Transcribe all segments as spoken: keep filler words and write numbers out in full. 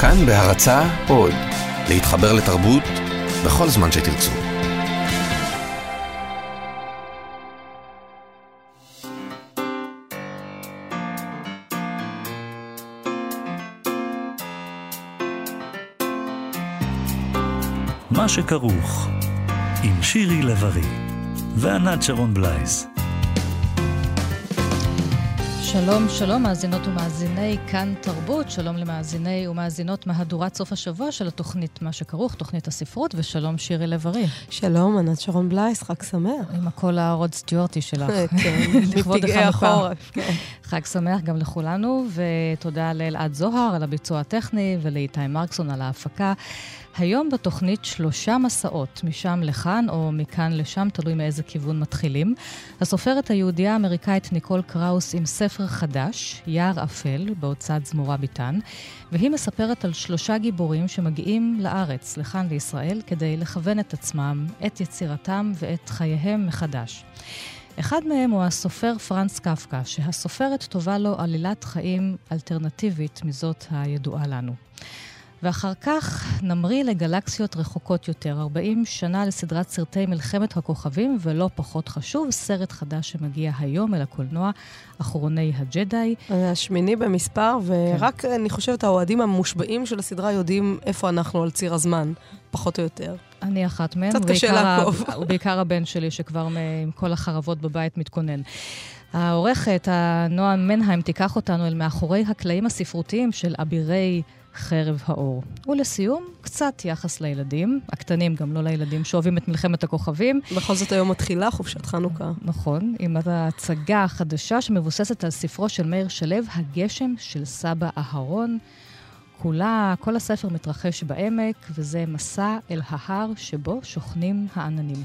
כאן בהרצאה עוד, להתחבר לתרבות בכל זמן שתרצו. מה שכרוך עם שירי לב-ארי וענת שרון בלייס. שלום, שלום מאזינות ומאזיני כאן תרבות, שלום למאזיני ומאזינות מהדורת סוף השבוע של התוכנית מה שכרוך, תוכנית הספרות, ושלום שירי לב-ארי. שלום, ענת שרון בלייס, חג שמח. עם הקול הרוד סטיוארטי שלך. כן, מפגעי החורף. חג שמח גם לכולנו, ותודה לאלעד זוהר על הביצוע הטכני, ולאיתי מרקסון על ההפקה. היום בתוכנית שלושה מסעות, משם לכאן או מכאן לשם, תלוי מאיזה כיוון מתחילים. הסופרת היהודייה האמריקאית ניקול קראוס עם ספר חדש, יער אפל, בהוצאת זמורה ביטן, והיא מספרת על שלושה גיבורים שמגיעים לארץ, לכאן לישראל, כדי לכוון את עצמם, את יצירתם ואת חייהם מחדש. אחד מהם הוא הסופר פרנץ קפקא, שהסופרת טובה לו עלילת חיים אלטרנטיבית מזאת הידועה לנו. ואחר כך נמריא לגלקסיות רחוקות יותר, ארבעים שנה לסדרת סרטי מלחמת הכוכבים, ולא פחות חשוב, סרט חדש שמגיע היום אל הקולנוע, אחרוני הג'די. השמיני במספר, ורק כן. אני חושבת האוהדים המושבעים של הסדרה יודעים איפה אנחנו על ציר הזמן, פחות או יותר. אני אחת מהם, קצת קשה לעקוב. ובעיקר הבן שלי שכבר עם כל החרבות בבית מתכונן. העורכת, הנועה מנהיים, תיקח אותנו אל מאחורי הקלעים הספרותיים של אבירי חרב האור. ולסיום, קצת יחס לילדים, הקטנים גם לא לילדים, שאוהבים את מלחמת הכוכבים. בכל זאת היום מתחילה חופשת חנוכה. נכון, עם ההצגה החדשה שמבוססת על ספרו של מאיר שלו, הגשם של סבא אהרון. כולה, כל הספר מתרחש בעמק, וזה מסע אל ההר שבו שוכנים העננים.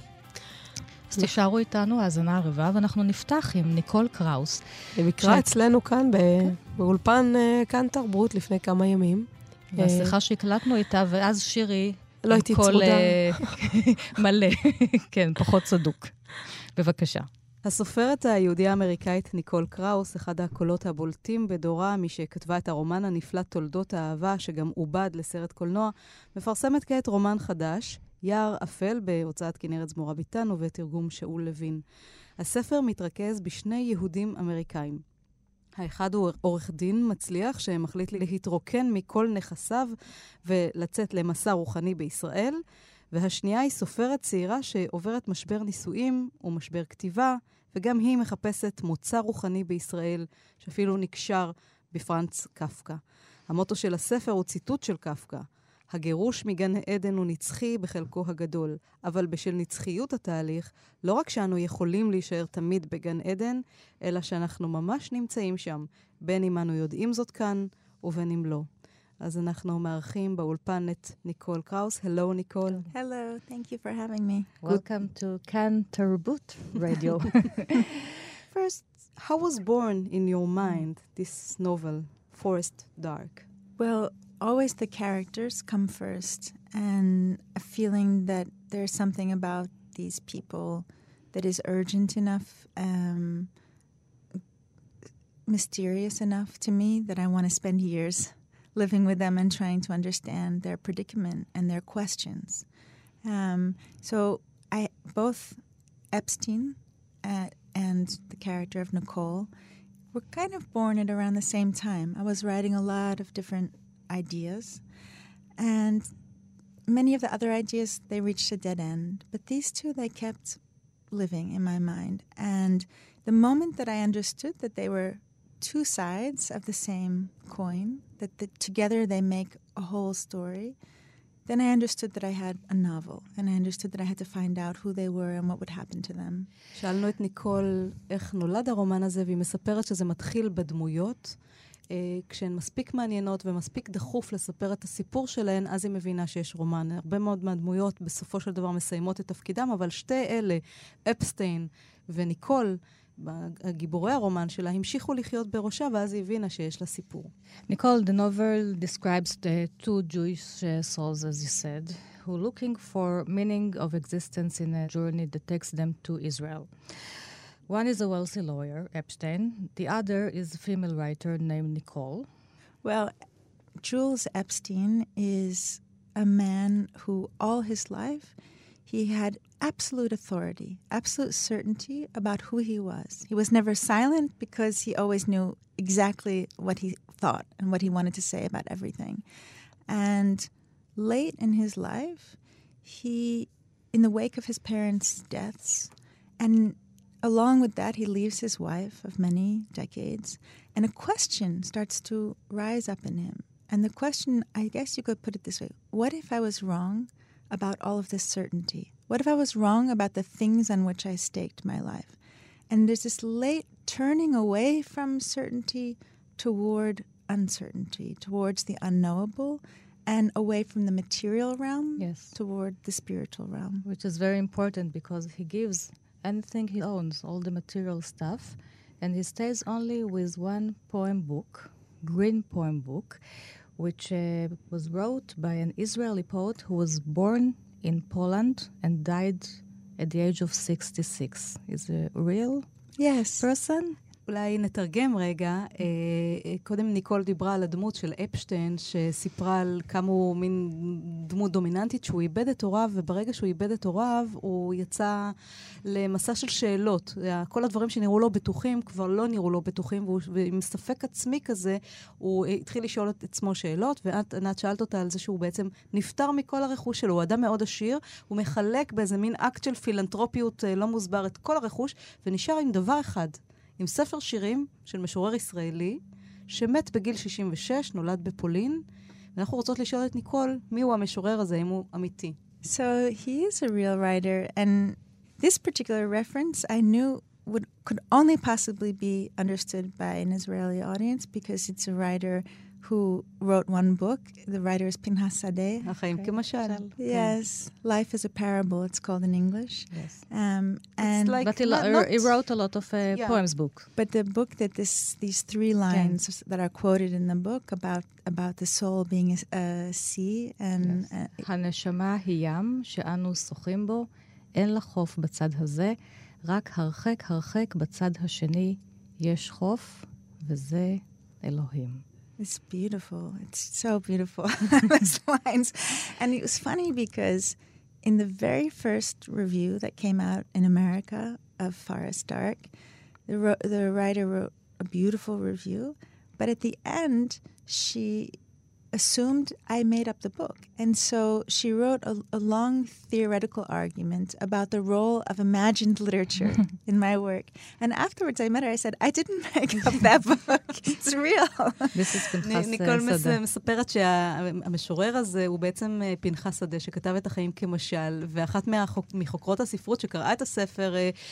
אז תשארו איתנו, האזנה הרבה, ואנחנו נפתח עם ניקול קראוס. במקרה אצלנו כאן, באולפן כאן תרבות, לפני כמה ימים. והשיחה שהקלטנו איתה, ואז שירי... לא הייתי צמודה. מלא, כן, פחות צדוק. בבקשה. הסופרת היהודיה האמריקאית ניקול קראוס, אחד הקולות הבולטים בדורה, מי שכתבה את הרומן הנפלא תולדות האהבה, שגם עובד לסרט קולנוע, מפרסמת כעת רומן חדש, יער אפל, בהוצאת כנרת זמורה ביטן ובתרגום שאול לוין. הספר מתרכז בשני יהודים אמריקאים. האחד הוא עורך דין מצליח שמחליט להתרוקן מכל נכסיו ולצאת למסע רוחני בישראל, והשנייה היא סופרת צעירה שעוברת משבר נישואים ומשבר כתיבה, וגם היא מחפשת מוצא רוחני בישראל, שאפילו נקשר בפרנץ קפקא. המוטו של הספר הוא ציטוט של קפקא. הגירוש מגן העדן הוא נצחי בחלקו הגדול, אבל בשל נצחיות התהליך, לא רק שאנו יכולים להישאר תמיד בגן עדן, אלא שאנחנו ממש נמצאים שם, בין אם אנו יודעים זאת כאן ובין אם לא. אז אנחנו מארחים באולפן את ניקול קראוס. Hello, ניקול. Hello, thank you for having me. Welcome to כאן תרבות Radio. First, how was born in your mind this novel, Forest Dark? Well, always the characters come first, and a feeling that there's something about these people that is urgent enough, um, mysterious enough to me that I want to spend years living with them and trying to understand their predicament and their questions. Um, so I both Epstein uh, and the character of Nicole were kind of born at around the same time. I was writing a lot of different ideas, and many of the other ideas, they reached a dead end, but these two, they kept living in my mind. And the moment that I understood that they were two sides of the same coin, that the, together they make a whole story, then I understood that I had a novel, and I understood that I had to find out who they were and what would happen to them. שאלנו את ניקול איך נולד הרומן הזה, והיא מספרת שזה מתחיל בדמויות, כשהן מספיק מעניינות ומספיק דחוף לספר את הסיפור שלהן, אז היא מבינה שיש רומן. הרבה מאוד מהדמויות בסופו של דבר מסיימות את תפקידם, אבל שתי אלה, אפסטיין וניקול, הגיבורי הרומן שלה, המשיכו לחיות בראשה, ואז היא הבינה שיש לה סיפור. Nicole, the novel describes the two Jewish souls, as you said, who are looking for meaning of existence in a journey that takes them to Israel. One is a wealthy lawyer, Epstein. The other is a female writer named Nicole. Well, Jules Epstein is a man who all his life he had absolute authority, absolute certainty about who he was. He was never silent because he always knew exactly what he thought and what he wanted to say about everything. And late in his life, he, in the wake of his parents' deaths, and along with that, he leaves his wife of many decades, and a question starts to rise up in him. And the question, I guess you could put it this way, what if I was wrong about all of this certainty? What if I was wrong about the things on which I staked my life? And there's this late turning away from certainty toward uncertainty, towards the unknowable, and away from the material realm yes. toward the spiritual realm. Which is very important because he gives anything he owns, all the material stuff, and he stays only with one poem book, Green Poem Book, which uh, was wrote by an Israeli poet who was born in Poland and died at the age of sixty-six. Is a real yes. person? אולי נתרגם רגע. קודם ניקול דיברה על הדמות של אפשטיין, שסיפרה על כמה הוא מין דמות דומיננטית, שהוא איבד את הוריו, וברגע שהוא איבד את הוריו, הוא יצא למסע של שאלות. כל הדברים שנראו לו בטוחים, כבר לא נראו לו בטוחים, ועם ספק עצמי כזה, הוא התחיל לשאול את עצמו שאלות, ואת, ענת, שאלת אותה על זה שהוא בעצם נפטר מכל הרכוש שלו. הוא אדם מאוד עשיר, הוא מחלק באיזה מין אקט של פילנטרופיות לא מוסבר את כל הרכוש, ונשאר עם דבר אחד. עם ספר שירים של משורר ישראלי, שמת בגיל שישים ושש, נולד בפולין, ואנחנו רוצות לשאול את ניקול, מי הוא המשורר הזה, אם הוא אמיתי. So he is a real writer, and this particular reference I knew would could only possibly be understood by an Israeli audience because it's a writer who wrote one book. The writer is Pinchas Sadeh. החיים כמשל. Yes, Life is a Parable, it's called in English. Yes. Um, and like but he, not, lo- not he wrote a lot of uh, yeah. poems book. But the book that this these three lines Okay. that are quoted in the book about about the soul being a, a sea and Yes. uh, הנשמה היא ים שאנו שוחים בו, אין לה חוף בצד הזה, רק הרחק הרחק בצד השני יש חוף, וזה אלוהים. it's beautiful. It's so beautiful, those lines. And it was funny because in the very first review that came out in America of Forest Dark, the, ro- the writer wrote a beautiful review, but at the end, she assumed I made up the book. And so she wrote a, a long theoretical argument about the role of imagined literature in my work. And afterwards I met her, I said, I didn't make up that book. It's real. This is פנחס ניקול שדה. מספרת שהמשורר הזה הוא בעצם פנחס שדה, שכתב את החיים כמשל, ואחת מחוקרות הספרות שקראה את הספר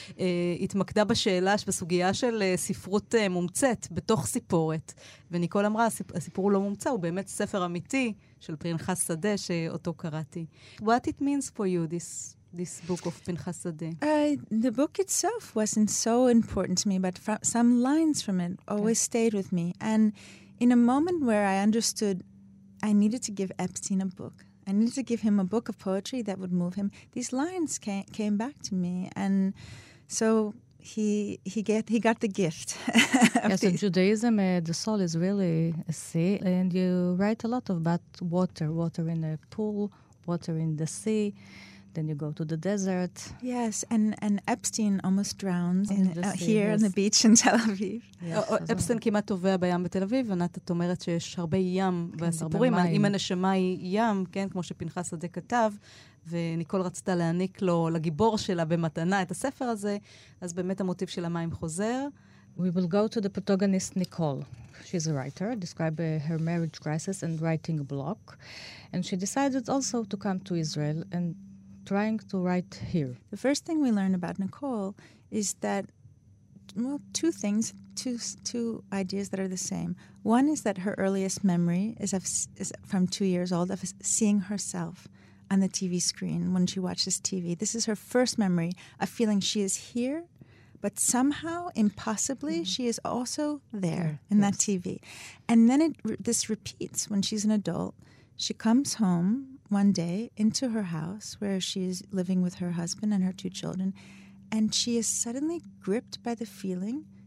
התמקדה בשאלה, בסוגיה של ספרות מומצאת בתוך סיפורת. וניקול אמרה, הסיפור הוא לא מומצא, הוא באמת ספר אמיתי של פנחס שדה שאותו קראתי. What it means for you, this this book of פנחס שדה? Uh, the book itself wasn't so important to me, but fr- some lines from it always okay. stayed with me. And in a moment where I understood I needed to give Epstein a book, I needed to give him a book of poetry that would move him, these lines came, came back to me. And so he he get he got the gift. Yes, in Judaism, uh, the soul is really a sea, and you write a lot about water, water in a pool, water in the sea. Then you go to the desert. Yes, and, and Epstein almost drowns in, the uh, sea, here yes. on the beach in Tel Aviv. אפסטיין כמעט טובע בים בתל אביב, ענת, את אומרת שיש הרבה ים בסיפורים. אם הנשמה היא ים, כן, כמו שפנחס שדה כתב, וניקול רצתה להעניק לו, לגיבור שלה במתנה את הספר הזה, אז באמת המוטיב של המים חוזר. We will go to the protagonist, Nicole. She's a writer, describe uh, her marriage crisis and writing block. And she decided also to come to Israel and trying to write here. The first thing we learn about Nicole is that, well, two things, two two ideas that are the same. One is that her earliest memory is, of, is from two years old of seeing herself on the T V screen when she watches T V. This is her first memory of feeling she is here, but somehow, impossibly, mm. she is also there yeah, in yes. that T V. And then it, this repeats when she's an adult. She comes home one day into her house where she is living with her husband and her two children, and she is suddenly gripped by the feeling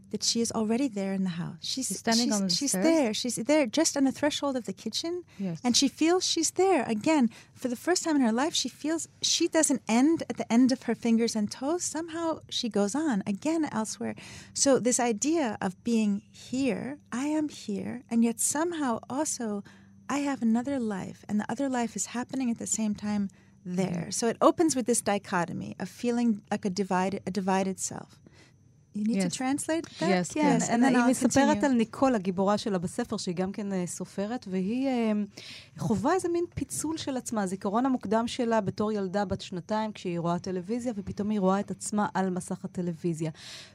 that she is already there in the house. She's, she's standing she's, on the she's stairs? there. She's there just on the threshold of the kitchen. Yes. And she feels she's there. Again, for the first time in her life, she feels she doesn't end at the end of her fingers and toes. Somehow she goes on again elsewhere. So this idea of being here, I am here, and yet somehow also I have another life, and the other life is happening at the same time there. So it opens with this dichotomy of feeling like a divided, a divided self. You need yes. to translate that? Yes, כן, yes. and היא מספרת על ניקול, הגיבורה שלה בספר, שהיא גם כן סופרת, והיא חובה איזה מין פיצול של עצמה. הזיכרון המוקדם שלה בתור ילדה בת שנתיים, כשהיא רואה טלוויזיה, ופתאום היא רואה את עצמה על מסך הטלוויזיה.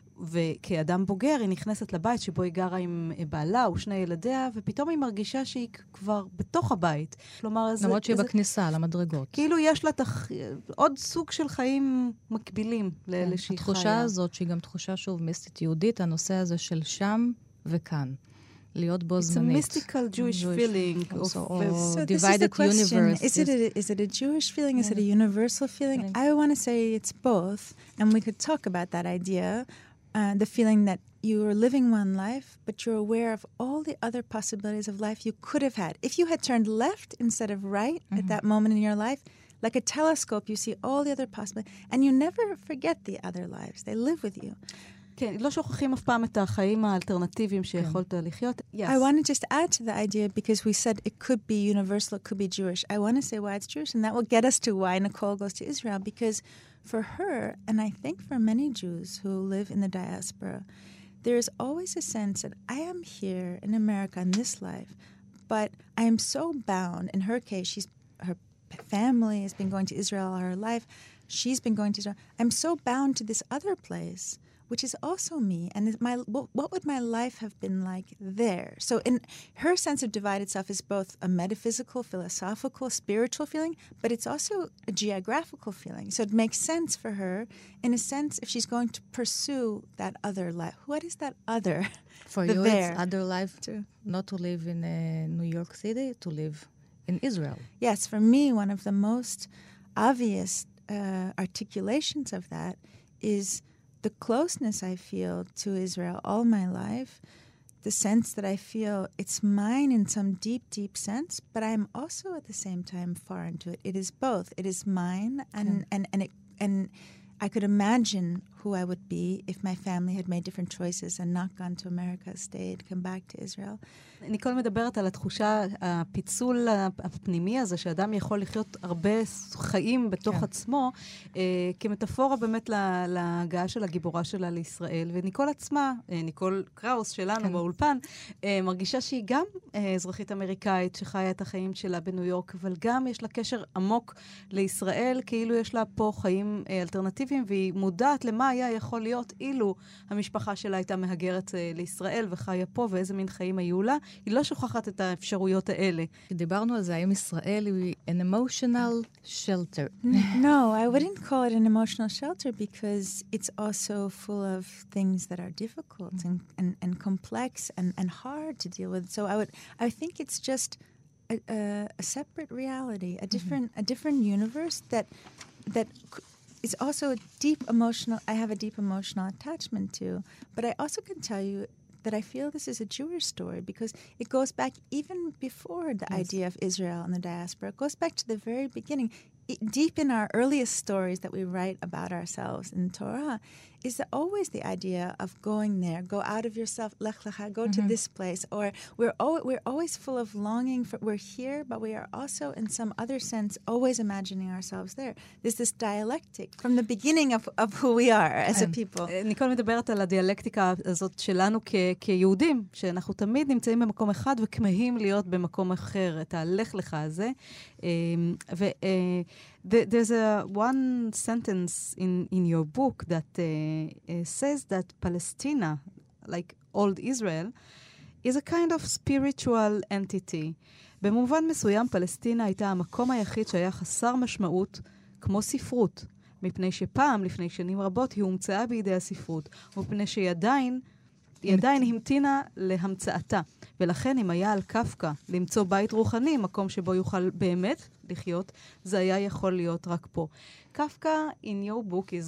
וכאדם בוגר היא נכנסת לבית שבו היא גרה עם בעלה ושני ילדיה, ופתאום היא מרגישה שהיא כבר בתוך הבית. כלומר, איזה... למרות שהיא איזה... בכניסה, על המדרגות. כאילו יש לה תח... עוד סוג של חיים מקבילים לאלה שהיא חיה. התחושה הזאת, שהיא גם תחושה שוב מיסטית יהודית, הנושא הזה של שם וכאן. להיות בו זמנית. It's a mystical Jewish feeling. Also, of, or so divided universe. Is it, a, is it a Jewish feeling? Is it a universal feeling? I want to say it's both. And we could talk about that idea. Uh, the feeling that you are living one life, but you're aware of all the other possibilities of life you could have had. If you had turned left instead of right mm-hmm. at that moment in your life, like a telescope, you see all the other possibilities. And you never forget the other lives. They live with you. כן, לא שוכחים אף פעם את החיים האלטרנטיביים שיכולת לחיות. Yes. I want to just add to the idea, because we said it could be universal, it could be Jewish. I want to say why it's Jewish, and that will get us to why Nicole goes to Israel, because for her, and I think for many Jews who live in the diaspora, there is always a sense that I am here in America in this life, but I am so bound. In her case, she's her family has been going to Israel all her life. She's been going to Israel. I'm so bound to this other place, which is also me. And my what would my life have been like there? So in her sense of divided self is both a metaphysical, philosophical, spiritual feeling, but it's also a geographical feeling. So it makes sense for her, in a sense, if she's going to pursue that other life. What is that other? For the you, there. It's other life too. Not to live in uh, New York City, to live in Israel. Yes, for me, one of the most obvious uh, articulations of that is the closeness I feel to Israel all my life, the sense that I feel it's mine in some deep, deep sense, but I'm also at the same time foreign to it. It is both. It is mine, and okay. and and it, and I could imagine who I would be if my family had made different choices and not gone to America, stayed, come back to Israel. ניקול מדברת על התחושה, הפיצול הפנימי הזה, שאדם יכול לחיות הרבה חיים בתוך כן. עצמו, אה, כמטאפורה באמת לה, להגעה של הגיבורה שלה לישראל. וניקול עצמה, אה, ניקול קראוס שלנו כן. באולפן, אה, מרגישה שהיא גם אה, אזרחית אמריקאית שחיה את החיים שלה בניו יורק, אבל גם יש לה קשר עמוק לישראל, כאילו יש לה פה חיים אה, אלטרנטיביים, והיא מודעת למה היה יכול להיות אילו המשפחה שלה הייתה מהגרת אה, לישראל וחיה פה, ואיזה מין חיים היו לה. היא לא שוכחת את האפשרויות האלה. דיברנו על זה, האם ישראל היא an emotional shelter? No, I wouldn't call it an emotional shelter because it's also full of things that are difficult and, and, and complex and, and hard to deal with. So I would, I think it's just a, a, a separate reality, a different, mm-hmm. a different universe that that is also a deep emotional. I have a deep emotional attachment to, but I also can tell you that I feel this is a Jewish story because it goes back even before the yes. idea of Israel and the diaspora. It goes back to the very beginning. It, deep in our earliest stories that we write about ourselves in Torah is the, always the idea of going there, go out of yourself, lech lecha, go mm-hmm. to this place. Or we're, al- we're always full of longing for, we're here, but we are also in some other sense always imagining ourselves there. There's this dialectic from the beginning of, of who we are as a people. ניקול מדברת על הדיאלקטיקה הזאת שלנו כ- כיהודים, שאנחנו תמיד נמצאים במקום אחד וכמהים להיות במקום אחר, את הלך לך הזה. ו... There's a one sentence in, in your book that uh, uh, says that Palestina, like old Israel, is a kind of spiritual entity. במובן מסוים, פלסטינה הייתה המקום היחיד שהיה חסר משמעות כמו ספרות, מפני שפעם, לפני שנים רבות, היא הומצאה בידי הספרות, ומפני שהיא עדיין, היא עדיין המתינה להמצאתה. ולכן אם היה על קפקא למצוא בית רוחני, מקום שבו יוכל באמת לחיות, זה היה יכול להיות רק פה. קפקא, in your book, is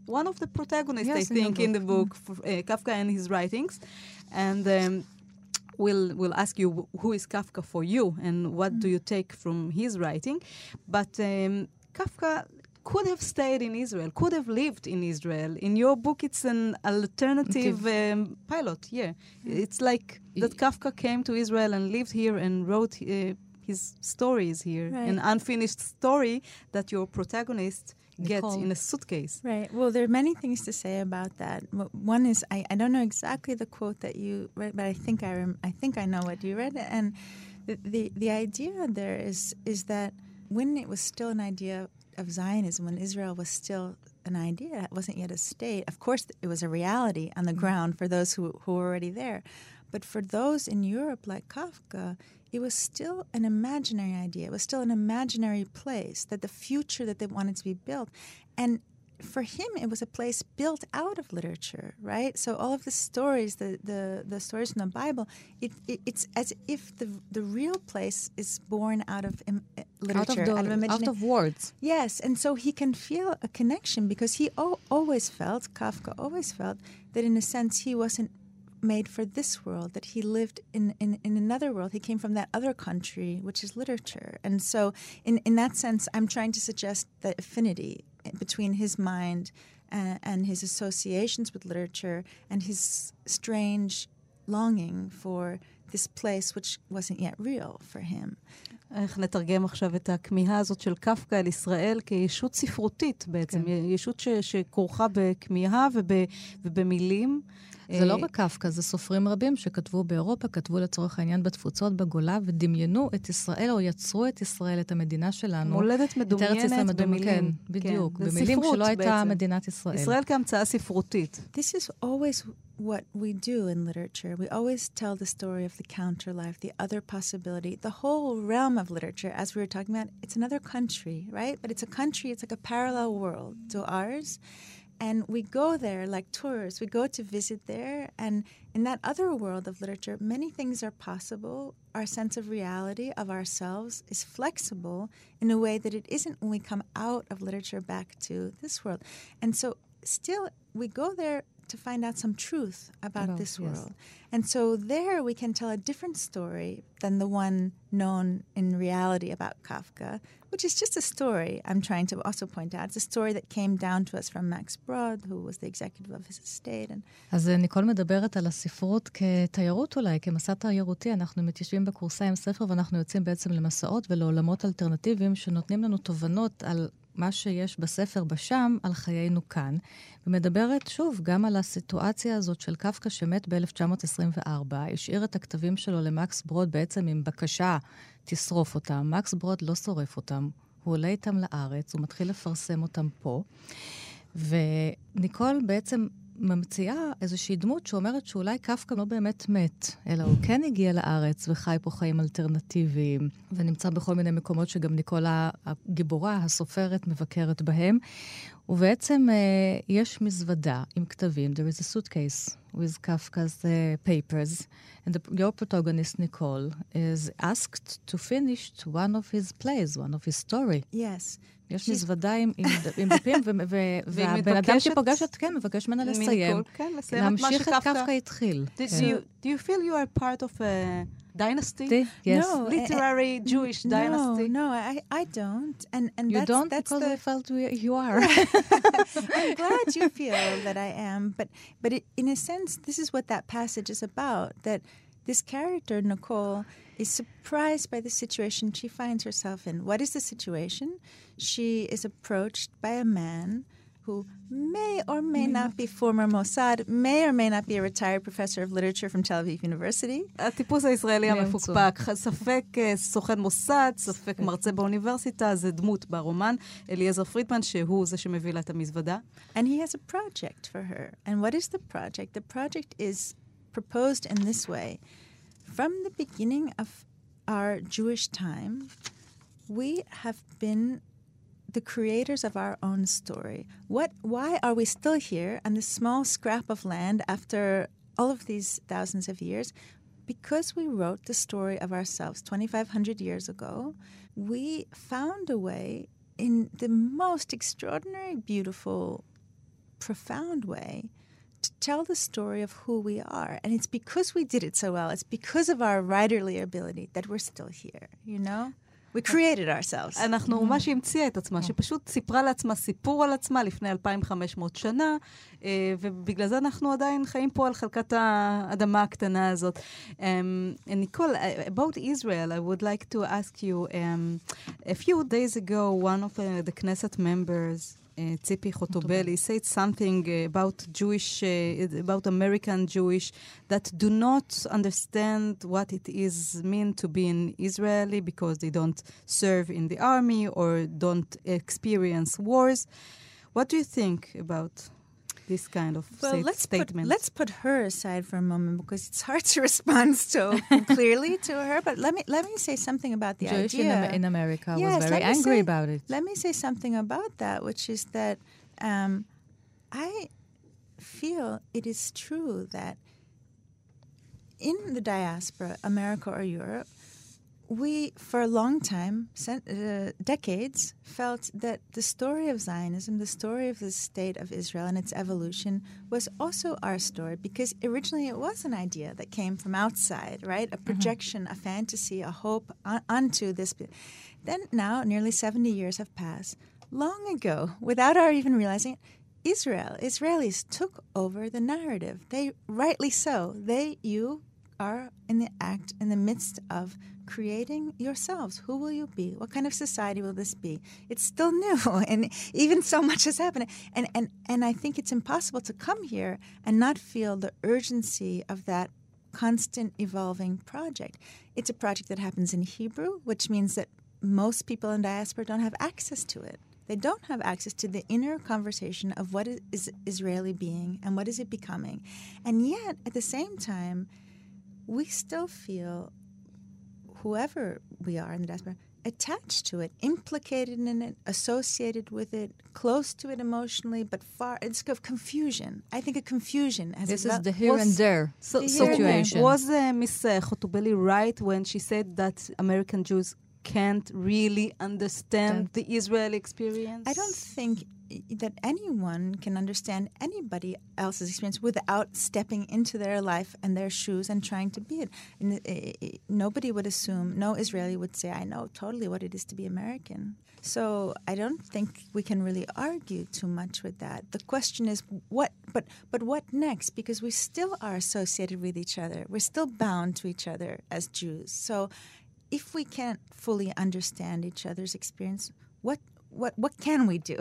one of the protagonists, yes, I think, in, in the book, mm. for, uh, Kafka and his writings. And um, we'll, we'll ask you who is Kafka for you and what mm. do you take from his writing. But um, Kafka could have stayed in Israel, could have lived in Israel. In your book, it's an alternative um, pilot, yeah. It's like that Kafka came to Israel and lived here and wrote uh, his stories here. Right. An unfinished story that your protagonist gets in a suitcase. Right. Well, there are many things to say about that. One is, I, I don't know exactly the quote that you read, but I think I, rem- I, think I know what you read. And the, the, the idea there is, is that when it was still an idea of Zionism, when Israel was still an idea, it wasn't yet a state. Of course, it was a reality on the mm-hmm. ground for those who, who were already there. But for those in Europe, like Kafka, it was still an imaginary idea. It was still an imaginary place, that the future that they wanted to be built. And for him, it was a place built out of literature, right? So all of the stories, the the, the stories from the Bible, it, it, it's as if the the real place is born out of im- literature, out of, the, out, of imagina- out of words. Yes, and so he can feel a connection because he o- always felt, Kafka always felt, that in a sense he wasn't made for this world, that he lived in, in, in another world. He came from that other country, which is literature. And so in, in that sense, I'm trying to suggest the affinity between his mind and, and his associations with literature and his strange longing for this place which wasn't yet real for him. איך נתרגם עכשיו את הכמיהה הזאת של קפקא אל ישראל כישות ספרותית בעצם, כן. ישות ש, שכרוכה בכמיהה וב, ובמילים. זה לא רק קפקא, זה סופרים רבים שכתבו באירופה, כתבו לצורך העניין בתפוצות בגולה, ודמיינו את ישראל, או יצרו את ישראל, את המדינה שלנו. מולדת מדומיינת במילים. כן, בדיוק. כן. במילים שלא הייתה מדינת ישראל. ישראל כהמצאה ספרותית. This is always what we do in literature. We always tell the story of the counter life, the other possibility. The whole realm of literature, as we were talking about, it's another country, right? But it's a country, it's like a parallel world to ours. And we go there like tourists. We go to visit there. And in that other world of literature, many things are possible. Our sense of reality, of ourselves, is flexible in a way that it isn't when we come out of literature back to this world. And so still, we go there to find out some truth about oh, this world. Yes. And so there we can tell a different story than the one known in reality about Kafka, which is just a story, I'm trying to also point out. It's a story that came down to us from Max Brod, who was the executive of his estate. And אז ניקול מדברת על הספרות כתיירות אולי, כמסע תיירותי. אנחנו מתיישבים בקורסה עם ספר, ואנחנו יוצאים בעצם למסעות ולעולמות אלטרנטיביים שנותנים לנו תובנות על מה שיש בספר בשם, על חיינו כאן. ומדברת שוב גם על הסיטואציה הזאת של קפקא שמת ב-אלף תשע מאות עשרים וארבע, השאיר את הכתבים שלו למקס ברוד בעצם עם בקשה, תשרוף אותם. מקס ברוד לא שורף אותם, הוא עולה איתם לארץ, הוא מתחיל לפרסם אותם פה. וניקול בעצם ממציאה איזושהי דמות שאומרת שאולי קפקא לא באמת מת, אלא הוא כן הגיע לארץ וחי פה חיים אלטרנטיביים, ונמצא בכל מיני מקומות שגם ניקולה הגיבורה, הסופרת, מבקרת בהם. ובעצם uh, יש מזוודה עם כתבים. There is a suitcase with Kafka's uh, papers, and the, your protagonist, Nicole, is asked to finish one of his plays, one of his story. Yes. יש מזוודה עם דפים, והבן אדם שפוגשת, כן, מבקש ממנה לסיים. להמשיך את קפקא התחיל. Do you feel you are part of a dynasty? Yes. No, literary uh, Jewish no, dynasty? No, I, I don't. And, and you that's, don't that's because the... I felt you are. I'm glad you feel that I am. But, but it, in a sense, this is what that passage is about, that this character, Nicole, is surprised by the situation she finds herself in. What is the situation? She is approached by a man who may or may not be former Mossad, may or may not be a retired professor of literature from Tel Aviv University. הטיפוס הישראלי המפוקפק, ספק סוכן מוסד, ספק מרצה באוניברסיטה, זה דמות ברומן, אליעזר פרידמן, שהוא זה שמביא לה את המזוודה. And he has a project for her. And what is the project? The project is proposed in this way. From the beginning of our Jewish time, we have been the creators of our own story. What? Why are we still here on this small scrap of land after all of these thousands of years? Because we wrote the story of ourselves twenty-five hundred years ago. We found a way in the most extraordinary, beautiful profound way to tell the story of who we are. And it's because we did it so well, it's because of our writerly ability that we're still here, you know? We created ourselves. אנחנו ממש המציאה את עצמה, שפשוט סיפרה לעצמה סיפור על עצמה לפני אלפיים וחמש מאות שנה, ובגלל זה אנחנו עדיין חיים פה על חלקת האדמה הקטנה הזאת. Nicole, about Israel, I would like to ask you, um, a few days ago, one of uh, the Knesset members, uh, Tzipi Khotobeli, said something uh, about Jewish, uh, about American Jewish, that do not understand what it is mean to be an Israeli because they don't serve in the army or don't experience wars. What do you think about this kind of well, sta- let's statement? Put, let's put her aside for a moment because it's hard to respond so clearly to her. But let me let me say something about the Jewish idea. in, in America yes, was very angry say, about it. Let me say something about that, which is that um, I feel it is true that in the diaspora, America or Europe, we, for a long time, uh, decades, felt that the story of Zionism, the story of the state of Israel and its evolution, was also our story, because originally it was an idea that came from outside, right? A projection, mm-hmm. a fantasy, a hope on, onto this. Then now, nearly seventy years have passed. Long ago, without our even realizing it, Israel, Israelis took over the narrative. They, rightly so, they, you are in the act, in the midst of creating yourselves. Who will you be? What kind of society will this be? It's still new, and even so much has happened. And, and, and I think it's impossible to come here and not feel the urgency of that constant evolving project. It's a project that happens in Hebrew, which means that most people in diaspora don't have access to it. They don't have access to the inner conversation of what is Israeli being and what is it becoming. And yet, at the same time, we still feel, whoever we are in the diaspora, attached to it, implicated in it, associated with it, close to it emotionally, but far. It's of confusion. I think a confusion. As this a, is the here was, and there so, the situation. So was uh, Miss uh, Khotobeli right when she said that American Jews can't really understand the Israeli experience? I don't think that anyone can understand anybody else's experience without stepping into their life and their shoes and trying to be it. And it, it, it, nobody would assume, no Israeli would say, I know totally what it is to be American. So I don't think we can really argue too much with that. The question is, what? But but what next? Because we still are associated with each other. We're still bound to each other as Jews. So if we can't fully understand each other's experience, what what what can we do?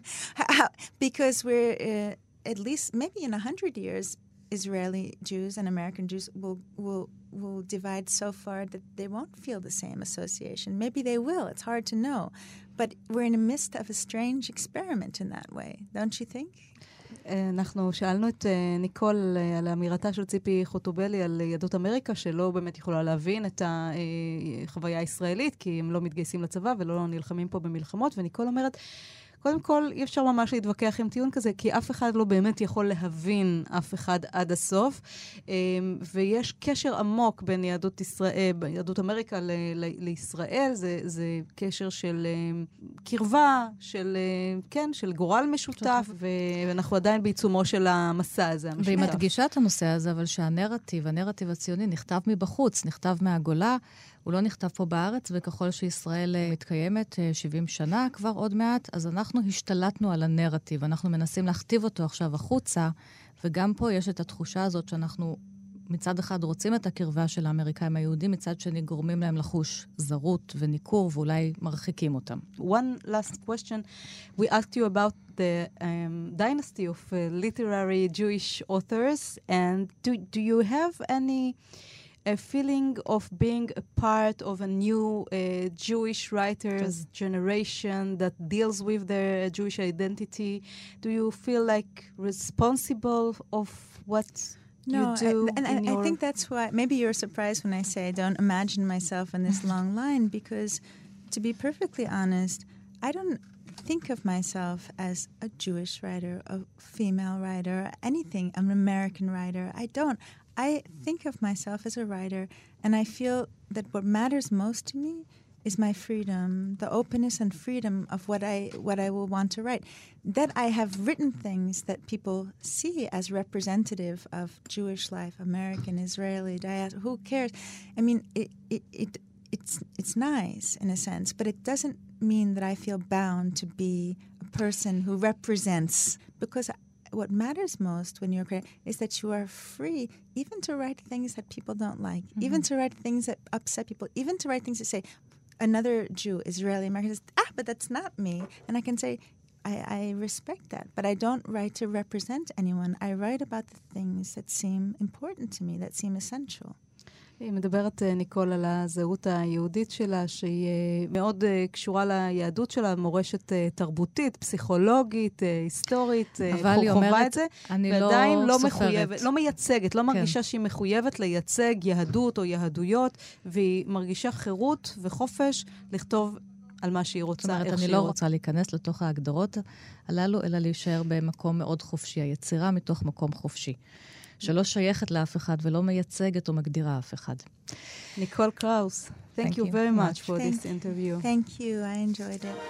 Because we're uh, at least maybe in a hundred years, Israeli Jews and American Jews will will will divide so far that they won't feel the same association. Maybe they will. It's hard to know, but we're in the midst of a strange experiment in that way, don't you think? אנחנו שאלנו את ניקול על האמירתה של ציפי חוטובלי על יהדות אמריקה, שלא באמת יכולה להבין את החוויה הישראלית, כי הם לא מתגייסים לצבא ולא נלחמים פה במלחמות, וניקול אומרת, קודם כל, אי אפשר ממש להתווכח עם טיעון כזה, כי אף אחד לא באמת יכול להבין אף אחד עד הסוף, ויש קשר עמוק בין יהדות ישראל, יהדות אמריקה ל- ל- לישראל, זה, זה קשר של קרבה, של, כן, של גורל משותף, ואנחנו עדיין בעיצומו של המסע הזה, המשותף. והיא מדגישה את הנושא הזה, אבל שהנרטיב, הנרטיב הציוני, נכתב מבחוץ, נכתב מהגולה, הוא לא נכתב פה בארץ, וככל שישראל מתקיימת שבעים שנה כבר עוד מעט, אז אנחנו השתלטנו על הנרטיב, אנחנו מנסים להכתיב אותו עכשיו החוצה, וגם פה יש את התחושה הזאת שאנחנו מצד אחד רוצים את הקרבה של האמריקאים היהודים, מצד שני גורמים להם לחוש זרות וניכור, ואולי מרחיקים אותם. One last question. We asked you about the um, dynasty of uh, literary Jewish authors, and do, do you have any a feeling of being a part of a new uh, Jewish writers generation that deals with their Jewish identity? Do you feel like responsible of what no, you do? I, and in I, your I think that's why maybe you're surprised when I say I don't imagine myself in this long line, because to be perfectly honest, I don't think of myself as a Jewish writer, a female writer, anything, an American writer. I don't. I think of myself as a writer, and I feel that what matters most to me is my freedom, the openness and freedom of what I what I will want to write. That I have written things that people see as representative of Jewish life, American, Israeli, diaspora. Who cares? I mean, it, it it it's it's nice in a sense, but it doesn't mean that I feel bound to be a person who represents, because what matters most when you're creating is that you are free even to write things that people don't like, mm-hmm. even to write things that upset people, even to write things that say, another Jew, Israeli American says, ah, but that's not me. And I can say, I, I respect that, but I don't write to represent anyone. I write about the things that seem important to me, that seem essential. היא מדברת, ניקול, על הזהות היהודית שלה, שהיא מאוד קשורה ליהדות שלה, מורשת תרבותית, פסיכולוגית, היסטורית, חובה את זה, ועדיין לא מחויבת, לא מייצגת, לא מרגישה שהיא מחויבת לייצג יהדות או יהדויות, והיא מרגישה חירות וחופש לכתוב על מה שהיא רוצה, איך שהיא רוצה. אני לא רוצה להיכנס לתוך ההגדרות הללו, אלא להישאר במקום מאוד חופשי, היצירה מתוך מקום חופשי. שלא שייכת לאף אחד ולא מייצגת או מגדירה אף אחד. ניקול קראוס, thank, thank you very much for thank, this interview. Thank you, I enjoyed it.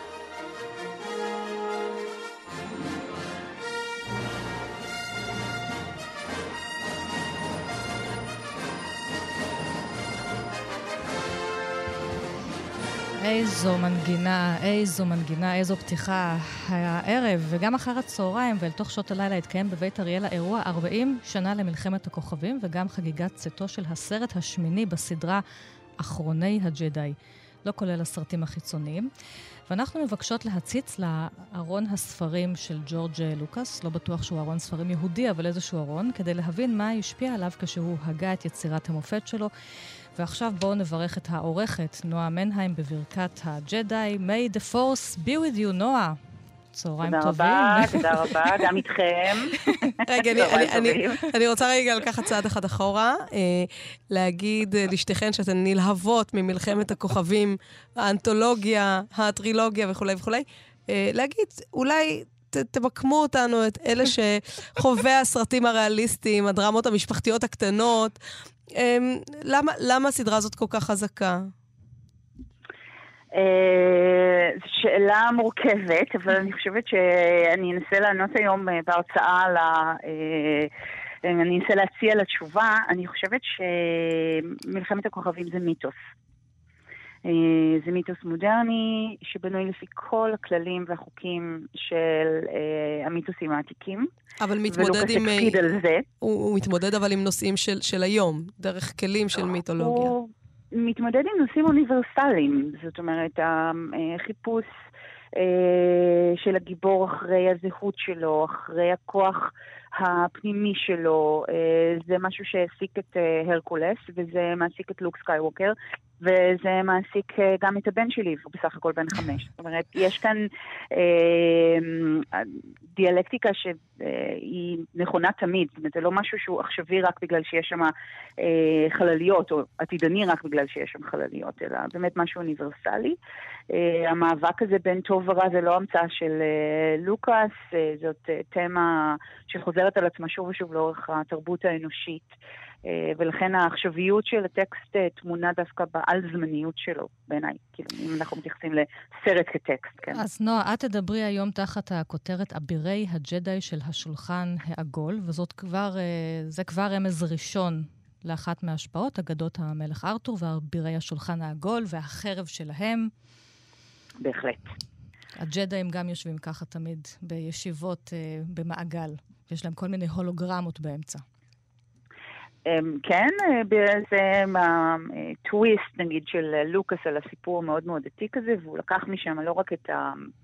איזו מנגינה, איזו מנגינה, איזו פתיחה. הערב וגם אחר הצהריים ואל תוך שעות הלילה התקיים בבית אריאלה אירוע ארבעים שנה למלחמת הכוכבים, וגם חגיגת צאתו של הסרט השמיני בסדרה אחרוני הג'די, לא כולל הסרטים החיצוניים. ואנחנו מבקשות להציץ לארון הספרים של ג'ורג' לוקאס, לא בטוח שהוא ארון ספרים יהודי, אבל איזשהו ארון, כדי להבין מה השפיע עליו כשהוא הגה את יצירת המופת שלו. ועכשיו בואו נברך את העורכת, נועה מנהיים, בברכת הג'די. May the force be with you, נועה. צהריים טובים. תודה רבה, תודה רבה, גם איתכם. רגע, אני רוצה רגע לקחת צעד אחד אחורה, להגיד לשתיכן שאתן נלהבות ממלחמת הכוכבים, האנתולוגיה, הטרילוגיה וכו' וכו'. להגיד, אולי תמקמו אותנו, את אלה שחווה הסרטים הריאליסטיים, הדרמות המשפחתיות הקטנות, למה, למה הסדרה הזאת כל כך חזקה? זו שאלה מורכבת, אבל אני חושבת שאני אנסה לענות היום בהרצאה, אני אנסה להציע לתשובה. אני חושבת שמלחמת הכוכבים זה מיתוס. זה מיתוס מודרני שבנוי לפי כל הכללים והחוקים של המיתוסים העתיקים. אבל מתמודד עם... הוא, הוא מתמודד אבל עם נושאים של, של היום, דרך כלים של מיתולוגיה. הוא מתמודד עם נושאים אוניברסליים, זאת אומרת, החיפוש של הגיבור אחרי הזהות שלו, אחרי הכוח הפנימי שלו, זה משהו שהעסיק את הרקולס, וזה מעסיק את לוק סקייווקר, וזה מעסיק גם את הבן שלי, הוא בסך הכל בן חמש. זאת אומרת, יש כאן אה, דיאלקטיקה שהיא נכונה תמיד, זאת אומרת, זה לא משהו שהוא עכשווי רק בגלל שיש שם אה, חלליות, או עתידני רק בגלל שיש שם חלליות, אלא באמת משהו אוניברסלי. אה, המאבק הזה בין טוב ורע זה לא המצאה של אה, לוקאס, אה, זאת אה, תמה שחוזרת על עצמה שוב ושוב לאורך התרבות האנושית, ולכן העכשוויות של הטקסט תמונה דווקא בעל זמניות שלו, בעיניי, כאילו, אם אנחנו מתייחסים לסרט כטקסט, כן. אז נועה, את תדברי היום תחת הכותרת אבירי הג'די של השולחן העגול, וזאת כבר, זה כבר רמז ראשון לאחת מההשפעות, אגדות המלך ארתור ואבירי השולחן העגול והחרב שלהם. בהחלט. הג'דאים גם יושבים ככה תמיד בישיבות במעגל, יש להם כל מיני הולוגרמות באמצע. כן, זה הטוויסט, נגיד, של לוקאס על הסיפור מאוד מאוד עתיק הזה, והוא לקח משם לא רק את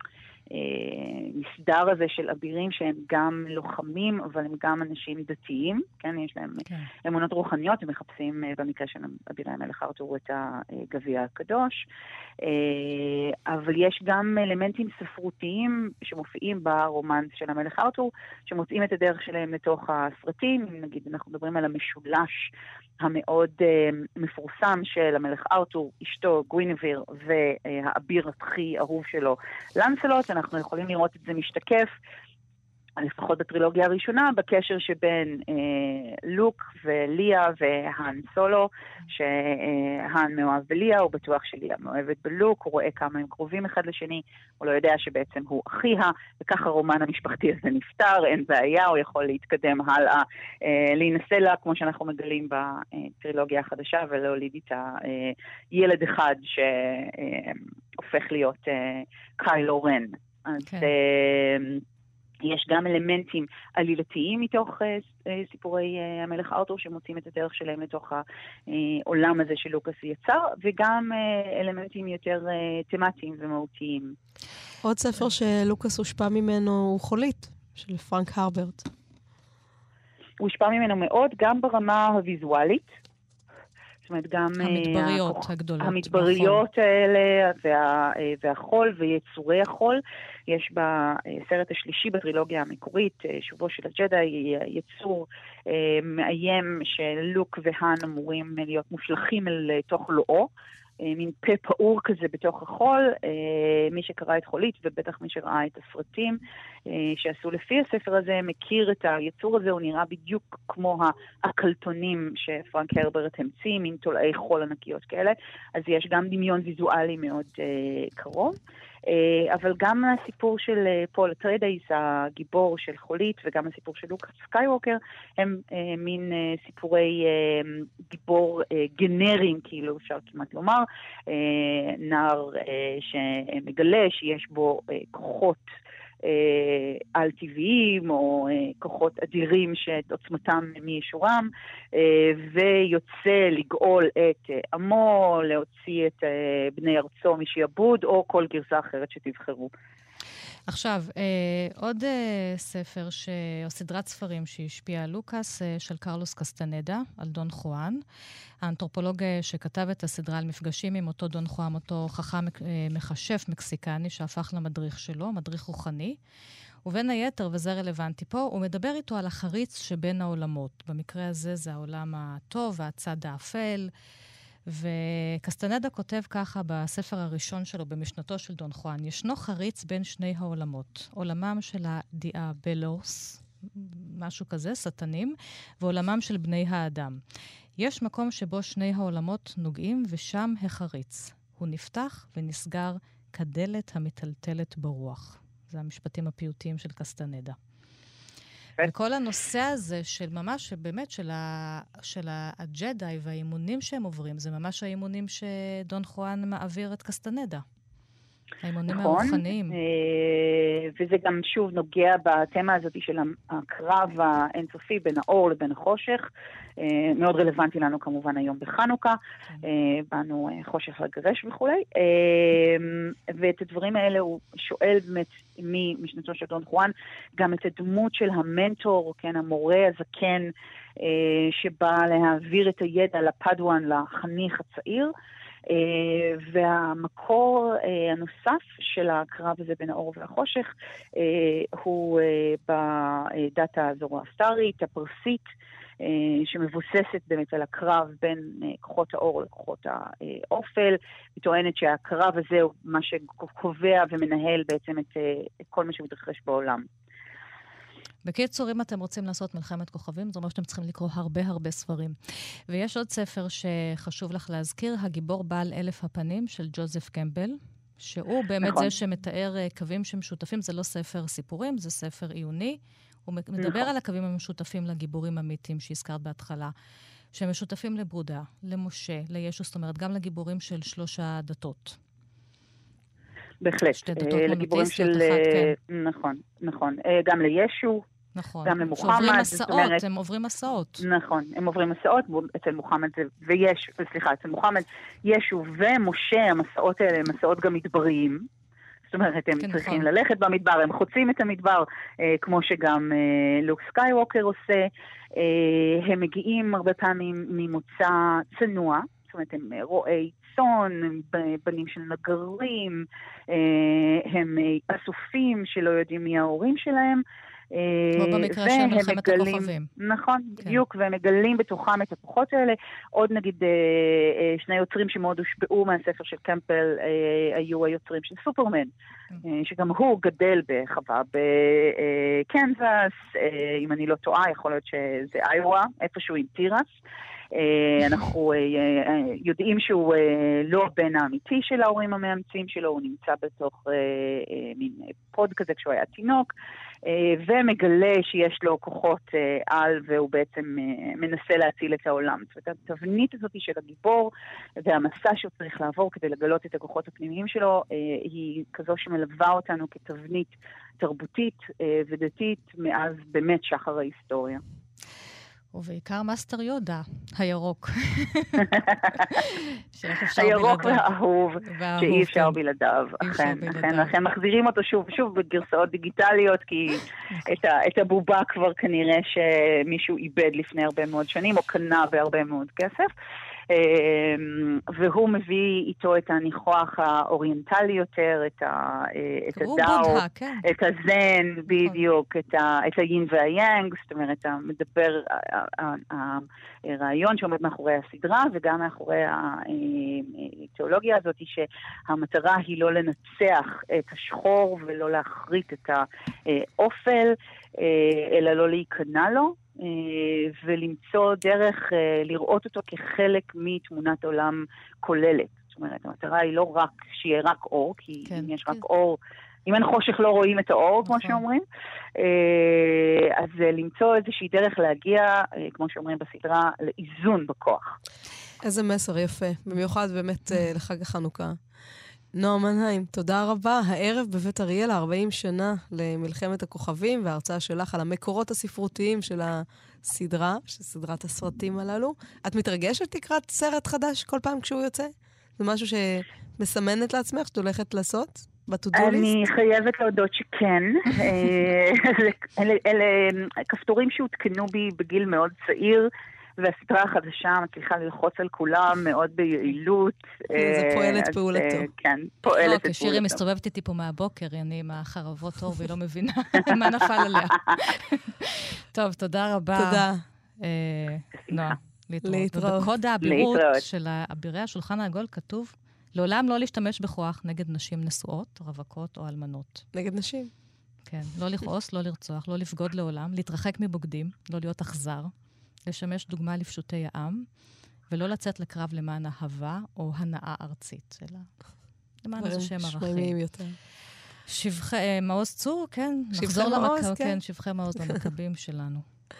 המסדר הזה של אבירים שהם גם לוחמים, אבל הם גם אנשים דתיים, כן, יש להם כן. אמונות רוחניות, הם מחפשים במקרה של אבירי המלך ארתור את הגביע הקדוש, אבל יש גם אלמנטים ספרותיים שמופיעים ברומן של המלך ארתור, שמוצאים את הדרך שלהם לתוך הסרטים, נגיד אנחנו מדברים על המשולש המאוד מפורסם של המלך ארתור, אשתו גווינביר והאביר הכי אהוב שלו לנסלוט, אנחנו יכולים לראות את זה משתקף לפחות בטרילוגיה הראשונה, בקשר שבין אה, לוק וליה והאן סולו, שהאן מאוהב בליה, הוא בטוח שליה מאוהבת בלוק, הוא רואה כמה הם קרובים אחד לשני, הוא לא יודע שבעצם הוא אחיה, וכך הרומן המשפחתי הזה נפטר, אין בעיה, הוא יכול להתקדם הלאה, אה, להינשא לה, כמו שאנחנו מגלים בטרילוגיה החדשה, ולהוליד איתה אה, ילד אחד שהופך אה, להיות אה, קיילו רן. אז... כן. אה, יש גם אלמנטים עלילתיים מתוך uh, סיפורי uh, המלך ארתור שמוצאים את הדרך שלהם לתוך העולם הזה שלוקאס יצר, וגם uh, אלמנטים יותר uh, תמטיים ומהותיים. עוד ספר שלוקאס הושפע ממנו הוא חולית, של פרנק הרברט. הוא הושפע ממנו מאוד, גם ברמה הוויזואלית. זאת אומרת, גם... המדבריות הכוח, הגדולות. המדבריות האלה, וה, והחול ויצורי החול. יש בסרט השלישי בטרילוגיה המקורית, שובו של הג'די, יצור מאיים שלוק והאן אמורים להיות מושלכים אל תוך לואו, מין פה פעור כזה בתוך החול. מי שקרא את חולית, ובטח מי שראה את הסרטים שעשו לפי הספר הזה, מכיר את היצור הזה, הוא נראה בדיוק כמו הקלטונים שפרנק הרברט המציא, מין תולעי חול ענקיות כאלה, אז יש גם דמיון ויזואלי מאוד קרוב. אבל גם הסיפור של פול אטריידייס, הגיבור של חולית, וגם הסיפור של לוק סקייווקר, הם מין סיפורי גיבור גנריים, כאילו אפשר כמעט לומר, נער שמגלה שיש בו כוחות על-טבעיים או כוחות אדירים שאת עוצמתם מישורם, ויוצא לגאול את עמו, להוציא את בני ארצו משעבוד, או כל גרסה אחרת שתבחרו. עכשיו, עוד ספר ש... או סדרת ספרים שהשפיעה על לוקאס, של קרלוס קסטנדה, על דון חואן. האנתרופולוג שכתב את הסדרה על מפגשים עם אותו דון חואן, אותו חכם מחשף מקסיקני שהפך למדריך שלו, מדריך רוחני. ובין היתר, וזה רלוונטי פה, הוא מדבר איתו על החריץ שבין העולמות. במקרה הזה זה העולם הטוב והצד האפל. וקסטנדה כותב ככה בספר הראשון שלו, במשנתו של דון חואן, ישנו חריץ בין שני העולמות, עולמם של הדיאבלוס, משהו כזה, שטנים, ועולמם של בני האדם. יש מקום שבו שני העולמות נוגעים, ושם החריץ. הוא נפתח ונסגר כדלת המטלטלת ברוח. זה המשפטים הפיוטיים של קסטנדה. וכל הנושא הזה של ממש, באמת, של, ה, של הג'די והאימונים שהם עוברים, זה ממש האימונים שדון חואן מעביר את קסטנדה. האימונים נכון, הרוחניים. וזה גם שוב נוגע בתמה הזאת של הקרב האינסופי בין האור לבין החושך. מאוד רלוונטי לנו כמובן היום בחנוכה. באנו חושך לגרש וכו'. ואת הדברים האלה הוא שואל באמת ממשנתו של דון חואן, גם את הדמות של המנטור, כן, המורה הזקן, שבא להעביר את הידע לפדואן, לחניך הצעיר. Uh, והמקור uh, הנוסף של הקרב הזה בין האור והחושך uh, הוא uh, בדת הזורואסטרית, הפרסית, uh, שמבוססת באמת על הקרב בין uh, כוחות האור לכוחות האופל. היא טוענת שהקרב הזה הוא מה שקובע ומנהל בעצם את, uh, את כל מה שמתרחש בעולם. בקיצור, אם אתם רוצים לעשות מלחמת כוכבים, זאת אומרת שאתם צריכים לקרוא הרבה הרבה ספרים. ויש עוד ספר שחשוב לך להזכיר, הגיבור בעל אלף הפנים של ג'וזף קמבל, שהוא באמת נכון. זה שמתאר קווים שמשותפים, זה לא ספר סיפורים, זה ספר עיוני. הוא מדבר נכון. על הקווים המשותפים לגיבורים אמיתיים שהזכרת בהתחלה, שמשותפים לבודה, למשה, לישו, זאת אומרת, גם לגיבורים של שלוש הדתות. בהחלט. שתי דתות מונותיסטיות, אחת, כן. נכון, נכון. גם לישו, נכון. גם למוחמד. שעוברים מסעות, אומרת, הם עוברים מסעות. נכון, הם עוברים מסעות, אצל מוחמד זה, ויש, סליחה, אצל מוחמד, ישו ומשה, המסעות האלה הם מסעות גם מדבריים. זאת אומרת, הם כן, צריכים נכון. ללכת במדבר, הם חוצים את המדבר, אה, כמו שגם אה, לוק סקייווקר עושה. אה, הם מגיעים הרבה פעמים ממוצא צנוע, זאת אומרת, הם רואי צאן, הם בנים של נגרים, אה, הם אסופים שלא יודעים מי ההורים שלהם, כמו במקרה של מלחמת הכוכבים. נכון, בדיוק, והם מגלים בתוכם את הכוחות האלה. עוד נגיד שני יוצרים שמאוד הושפעו מהספר של קמפל היו היוצרים של סופרמן, שגם הוא גדל בחווה בקנזס, אם אני לא טועה, יכול להיות שזה איואה, איפשהו עם טירס. אנחנו יודעים שהוא לא הבן האמיתי של ההורים המאמצים שלו, הוא נמצא בתוך מין פוד כזה כשהוא היה תינוק, ומגלה שיש לו כוחות על, והוא בעצם מנסה להציל את העולם. זאת אומרת, התבנית הזאת של הגיבור והמסע שהוא צריך לעבור כדי לגלות את הכוחות הפנימיים שלו, היא כזו שמלווה אותנו כתבנית תרבותית ודתית מאז באמת שחר ההיסטוריה. ובעיקר מאסטר יודה, הירוק. הירוק והאהוב, שאי אפשר בלעדיו. אכן, אכן, לכן מחזירים אותו שוב, שוב בגרסאות דיגיטליות, כי את הבובה כבר כנראה שמישהו איבד לפני הרבה מאוד שנים, או קנה בהרבה מאוד כסף. והוא מביא איתו את הניחוח האוריינטלי יותר, את הדאו, את הזן, בדיוק, את היין והיאנג, זאת אומרת, מדבר הרעיון שעומד מאחורי הסדרה, וגם מאחורי התיאולוגיה הזאת, שהמטרה היא לא לנצח את השחור ולא להחריט את האופל, אלא לא להיכנע לו. ולמצוא דרך לראות אותו כחלק מתמונת עולם כוללת. זאת אומרת, המטרה היא לא רק שיהיה רק אור, כי כן, אם יש כן. רק אור, אם אין חושך לא רואים את האור, כמו שאומרים. אז למצוא איזושהי דרך להגיע, כמו שאומרים בסדרה, לאיזון בכוח. איזה מסר יפה, במיוחד באמת לחג החנוכה. נועה מנהיים, תודה רבה. הערב בבית אריאל, ארבעים שנה למלחמת הכוכבים, וההרצאה שלך על המקורות הספרותיים של הסדרה, של סדרת הסרטים הללו. את מתרגשת לקראת סרט חדש כל פעם כשהוא יוצא? זה משהו שמסמנת לעצמך שאת הולכת לעשות בטודו ליסט? אני חייבת להודות שכן. אלה כפתורים שהותקנו בי בגיל מאוד צעיר, והסדרה החדשה מצליחה ללחוץ על כולם מאוד ביעילות. זה פועלת פעולתו. כן, פועלת פעולתו. כשירי מסתובבת איתי פה מהבוקר, אני עם החרבות אור והיא לא מבינה מה נפל עליה. טוב, תודה רבה. תודה. נועה, להתראות. ובקוד האבירות של אבירי השולחן העגול כתוב, לעולם לא להשתמש בכוח נגד נשים נשואות, רווקות או אלמנות. נגד נשים. כן, לא לכעוס, לא לרצוח, לא לפגוד לעולם, להתרחק מבוגדים, לא להיות אכזר. לשמש דוגמה לפשוטי העם, ולא לצאת לקרב למען אהבה או הנאה ארצית, אלא למען איזה שם ערכים. שמיימים יותר. שבחי, מעוז צור, כן. נחזור למכבים, כן, שבחי מעוז למכבים שלנו.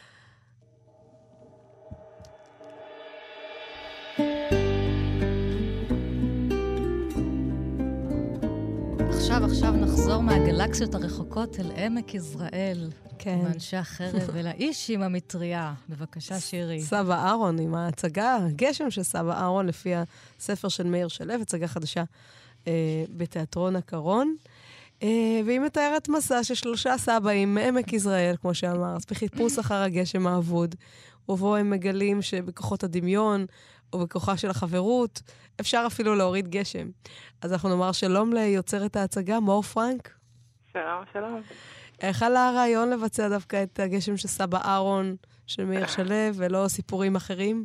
עכשיו, עכשיו נחזור מהגלקסיות הרחוקות אל עמק יזרעאל. כן. מאנשי החרב ולאיש עם המטריה. בבקשה, שירי. סבא אהרון עם ההצגה, הגשם של סבא אהרון, לפי הספר של מאיר שלו, הצגה חדשה אה, בתיאטרון הקרון. אה, והיא מתארת מסע של שלושה סבאים מעמק יזרעאל, כמו שאמר, בחיפוש אחר הגשם האבוד, ובו הם מגלים שבכוחות הדמיון, או בכוחה של החברות, אפשר אפילו להוריד גשם. אז אנחנו נאמר שלום ליוצרת ההצגה, מור פרנק. שלום, שלום. איך עלה הרעיון לבצע דווקא את הגשם של סבא אהרון, של מאיר שלו, ולא סיפורים אחרים?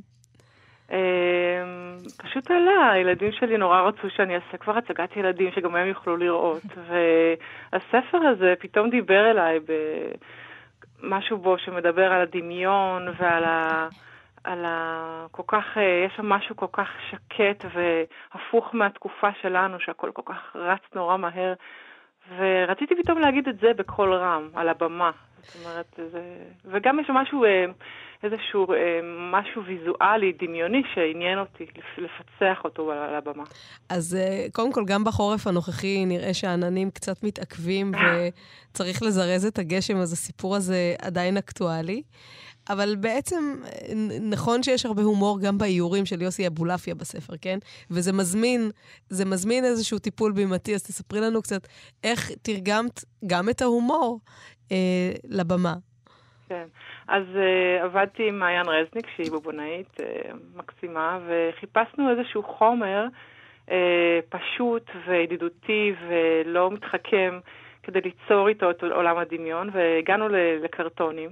פשוט עלה, הילדים שלי נורא רצו שאני אעשה כבר הצגת ילדים שגם הם יוכלו לראות, והספר הזה פתאום דיבר אליי במשהו בו שמדבר על הדמיון ועל ה... על ה... כל כך, יש שם משהו כל כך שקט והפוך מהתקופה שלנו, שהכל כל כך רץ נורא מהר, ורציתי פתאום להגיד את זה בקול רם, על הבמה. זאת אומרת, זה... וגם יש משהו, איזשהו משהו ויזואלי, דמיוני, שעניין אותי לפצח אותו על הבמה. אז קודם כל, גם בחורף הנוכחי נראה שהעננים קצת מתעכבים, וצריך לזרז את הגשם, אז הסיפור הזה עדיין אקטואלי. אבל בעצם נכון שיש הרבה הומור גם באיורים של יוסי אבולעפיה בספר, כן? וזה מזמין, זה מזמין איזשהו טיפול בימתי, אז תספרי לנו קצת איך תרגמת גם את ההומור אה, לבמה. כן, אז uh, עבדתי עם מעיין רזניק, שהיא בובונאית uh, מקסימה, וחיפשנו איזשהו חומר uh, פשוט וידידותי ולא מתחכם, כדי ליצור איתו את עולם הדמיון, והגענו לקרטונים.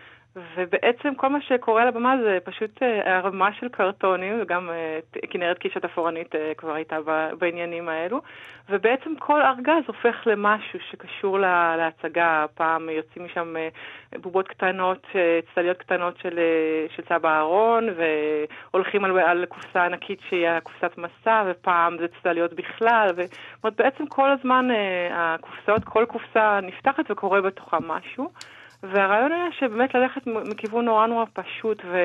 ובעצם כל מה שקורה על הבמה זה פשוט הרמה של קרטונים, וגם כנרת קישת אפורנית כבר הייתה בעניינים האלו, ובעצם כל ארגז הופך למשהו שקשור להצגה. פעם יוצאים משם בובות קטנות, צלליות קטנות של, של סבא אהרון, והולכים על, על קופסה ענקית שהיא קופסת מסע, ופעם זה צלליות בכלל, ובעצם כל הזמן הקופסאות, כל קופסה נפתחת וקורה בתוכה משהו. והרעיון היה שבאמת ללכת מכיוון נורא נורא פשוט ו...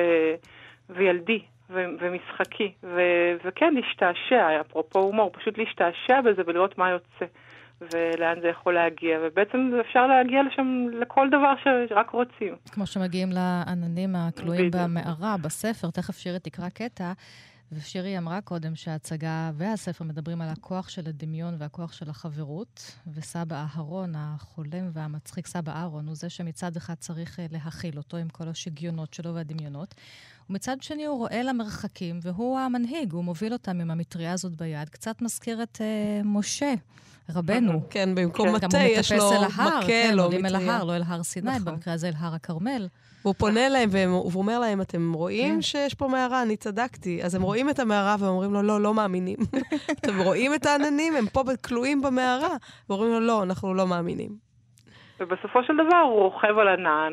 וילדי ו... ומשחקי, ו... וכן להשתעשע, אפרופו הומור, פשוט להשתעשע בזה ולראות מה יוצא ולאן זה יכול להגיע, ובעצם אפשר להגיע לשם לכל דבר שרק רוצים. כמו שמגיעים לעננים הכלואים במערה, בספר, תכף שירי תקרא קטע, ושירי אמרה קודם שההצגה והספר מדברים על הכוח של הדמיון והכוח של החברות, וסבא אהרון, החולם והמצחיק סבא אהרון, הוא זה שמצד אחד צריך להכיל אותו עם כל השגיונות שלו והדמיונות, ומצד שני הוא רואה למרחקים, והוא המנהיג, הוא מוביל אותם עם המטריה הזאת ביד, קצת מזכיר את uh, משה, רבנו. כן, במקום מטה יש לו מקל או מטריה. אל ההר, לא אל הר סיני, במקרה הזה אל הר הכרמל. והוא פונה להם והוא אומר להם, אתם רואים שיש פה מערה? אני צדקתי. אז הם רואים את המערה ואומרים לו, לא, לא מאמינים. אתם רואים את העננים? הם פה כלואים במערה. ואומרים לו, לא, אנחנו לא מאמינים. ובסופו של דבר הוא רוכב על ענן,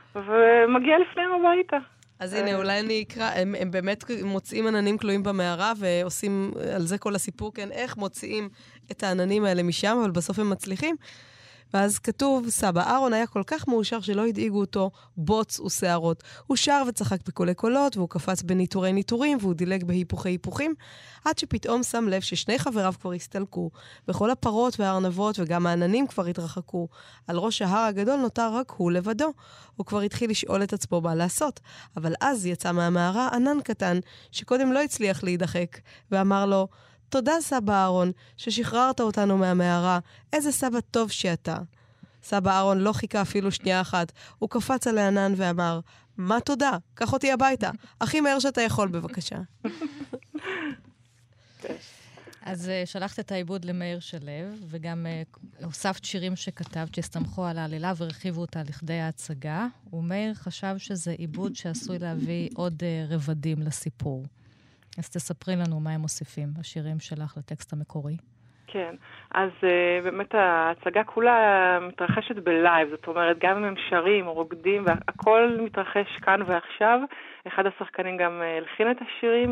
ומגיע לפניהם הביתה. אז הנה, אולי אני אקרא, הם, הם באמת מוצאים עננים כלואים במערה, ועושים על זה כל הסיפור, כן, איך מוציאים את העננים האלה משם, אבל בסוף הם מצליחים. ואז כתוב, סבא אהרון היה כל כך מאושר שלא הדאיגו אותו בוץ ושערות. הוא שר וצחק בקולי קולות, והוא קפץ בניטורי ניטורים, והוא דילג בהיפוכי היפוכים, עד שפתאום שם לב ששני חבריו כבר הסתלקו, וכל הפרות והארנבות וגם העננים כבר התרחקו. על ראש ההר הגדול נותר רק הוא לבדו. הוא כבר התחיל לשאול את עצמו מה לעשות, אבל אז יצא מהמערה ענן קטן, שקודם לא הצליח להידחק, ואמר לו, תודה סבא אהרון, ששחררת אותנו מהמערה. איזה סבא טוב שאתה. סבא אהרון לא חיכה אפילו שנייה אחת. הוא קפץ על הענן ואמר, מה תודה? קח אותי הביתה. הכי מהר שאתה יכול, בבקשה. אז uh, שלחת את העיבוד למאיר שלו, וגם uh, הוספת שירים שכתבת שהסתמכו על העלילה והרחיבו אותה לכדי ההצגה, ומאיר חשב שזה עיבוד שעשוי להביא עוד uh, רבדים לסיפור. אז תספרי לנו מה הם מוסיפים, השירים שלך לטקסט המקורי. כן, אז uh, באמת ההצגה כולה מתרחשת בלייב, זאת אומרת, גם אם הם שרים או רוקדים, והכל מתרחש כאן ועכשיו. אחד השחקנים גם uh, הלחין את השירים,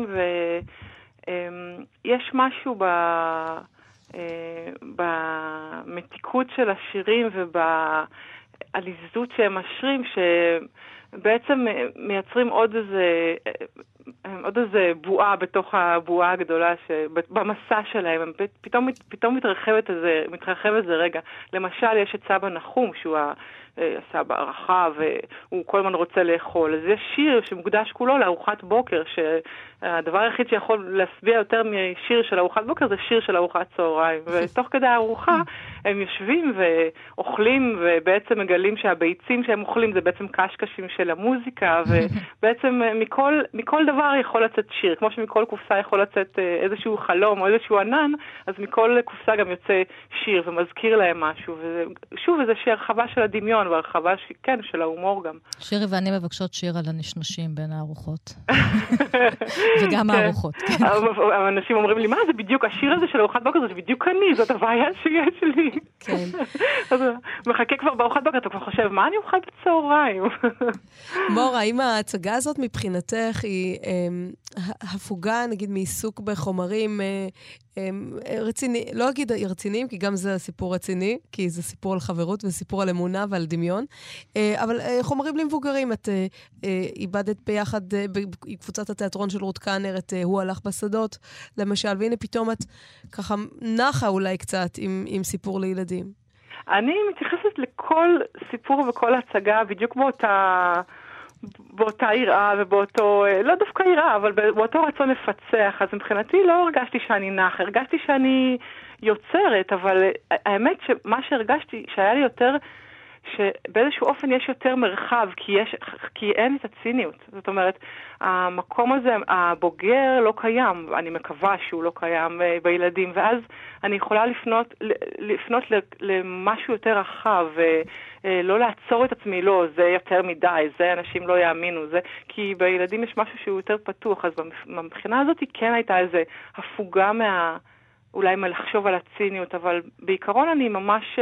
ויש um, משהו ב, uh, במתיקות של השירים ובעליזות שהם משרים, שבעצם מייצרים עוד איזה... עוד איזה בועה בתוך הבועה הגדולה במסע שלהם, הם פתאום, פתאום מתרחבת איזה, מתרחב איזה רגע. למשל, יש את סבא נחום, שהוא הסבא הרחב, והוא כל הזמן רוצה לאכול. אז יש שיר שמוקדש כולו לארוחת בוקר, שהדבר היחיד שיכול להשביע יותר משיר של ארוחת בוקר, זה שיר של ארוחת צהריים. ותוך כדי הארוחה, הם יושבים ואוכלים, ובעצם מגלים שהביצים שהם אוכלים זה בעצם קשקשים של המוזיקה, ובעצם מכל, מכל דבר יכול לצאת שיר. כמו שמכל קופסה יכול לצאת איזשהו חלום או איזשהו ענן, אז מכל קופסה גם יוצא שיר ומזכיר להם משהו. ושוב, איזו הרחבה של הדמיון, והרחבה, כן, של ההומור גם. שירי ואני מבקשות שיר על הנשנושים בין הארוחות. וגם הארוחות. אנשים אומרים לי, מה זה בדיוק, השיר הזה של ארוחת בוקר, זה בדיוק אני, זאת הבעיה שיש לי. כן. אז מחכה כבר בארוחת בוקר, אתה כבר חושב, מה אני אוכל בצהריים? מורה, האם ההצגה הזאת מבחינתך היא הפוגה, נגיד, מעיסוק בחומרים רציני, לא אגיד רציניים, כי גם זה סיפור רציני, כי זה סיפור על חברות וסיפור על אמונה ועל דמיון, אבל חומרים למבוגרים, את איבדת ביחד בקבוצת התיאטרון של רות קאנר, את הוא הלך בשדות, למשל, והנה פתאום את ככה נחה אולי קצת עם, עם סיפור לילדים. אני מתייחסת לכל סיפור וכל הצגה בדיוק באותה... באותה יראה ובאותו, לא דווקא יראה, אבל באותו רצון לפצח. אז מבחינתי לא הרגשתי שאני נח, הרגשתי שאני יוצרת, אבל האמת שמה שהרגשתי, שהיה לי יותר שבאיזשהו אופן יש יותר מרחב, כי, יש, כי אין את הציניות. זאת אומרת, המקום הזה, הבוגר לא קיים, אני מקווה שהוא לא קיים בילדים, ואז אני יכולה לפנות, לפנות למשהו יותר רחב, ולא לעצור את עצמי, לא, זה יותר מדי, זה אנשים לא יאמינו, זה, כי בילדים יש משהו שהוא יותר פתוח, אז מבחינה הזאת כן הייתה איזו הפוגה מה, אולי מלחשוב על הציניות, אבל בעיקרון אני ממש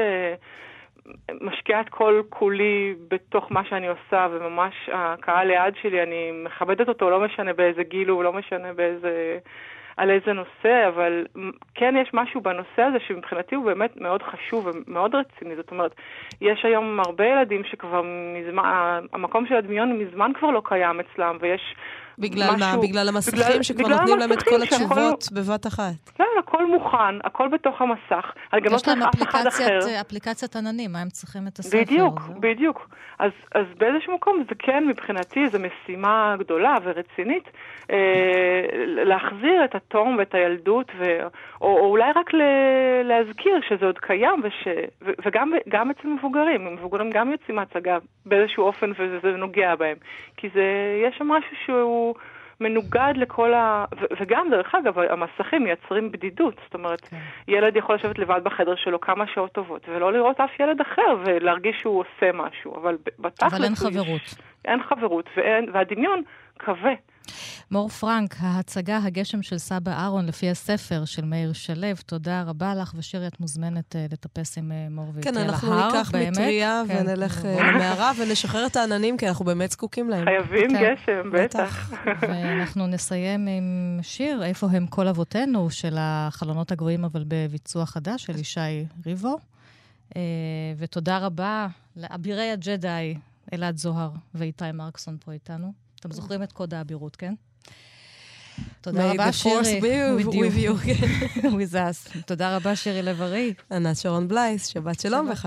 משקיעה את כל כולי בתוך מה שאני עושה, וממש הקהל ליד שלי, אני מכבדת אותו, לא משנה באיזה גיל הוא, לא משנה באיזה, על איזה נושא, אבל כן יש משהו בנושא הזה שמבחינתי הוא באמת מאוד חשוב ומאוד רציני. זאת אומרת, יש היום הרבה ילדים שכבר מזמן, המקום של הדמיון מזמן כבר לא קיים אצלם, ויש בגלל משהו, מה? בגלל המסכים בגלל, שכבר בגלל נותנים להם את כל שהכל, התשובות בבת אחת. לא, הכל מוכן, הכל בתוך המסך. יש להם אפליקציית, אפליקציית עננים, מה הם צריכים את הספר? בדיוק, זה? בדיוק. אז, אז באיזשהו מקום זה כן מבחינתי, זו משימה גדולה ורצינית, אה, להחזיר את התום ואת הילדות, ו, או, או אולי רק ל, להזכיר שזה עוד קיים, וש, ו, וגם גם אצל מבוגרים, מבוגרים גם יוצאים מהצגה באיזשהו אופן, וזה נוגע בהם. כי זה, יש שם משהו שהוא מנוגד לכל ה... ו- וגם, דרך אגב, המסכים מייצרים בדידות. זאת אומרת, okay. ילד יכול לשבת לבד בחדר שלו כמה שעות טובות, ולא לראות אף ילד אחר, ולהרגיש שהוא עושה משהו. אבל בתכלס... אבל אין חברות. יש... אין חברות, ואין... והדמיון קווה. מור פרנק, ההצגה הגשם של סבא אהרון לפי הספר של מאיר שלו, תודה רבה לך, ושירי, את מוזמנת uh, לטפס עם uh, מור ויטל כן, להר, אנחנו ניקח מטריה כן, ונלך uh, למערה ונשחרר את העננים, כי אנחנו באמת זקוקים להם. חייבים כן. גשם, בטח. ואנחנו נסיים עם שיר, איפה הם כל אבותינו, של החלונות הגבוהים, אבל בביצוע חדש, של ישי ריבו. Uh, ותודה רבה לאבירי הג'די, אלעד זוהר ואיתי מרקסון פה איתנו. אתם זוכרים את קוד האבירות, כן? תודה רבה, שירי. With you. With us. תודה רבה, שירי לב-ארי. ענת שרון בלייס, שבת שלום וחג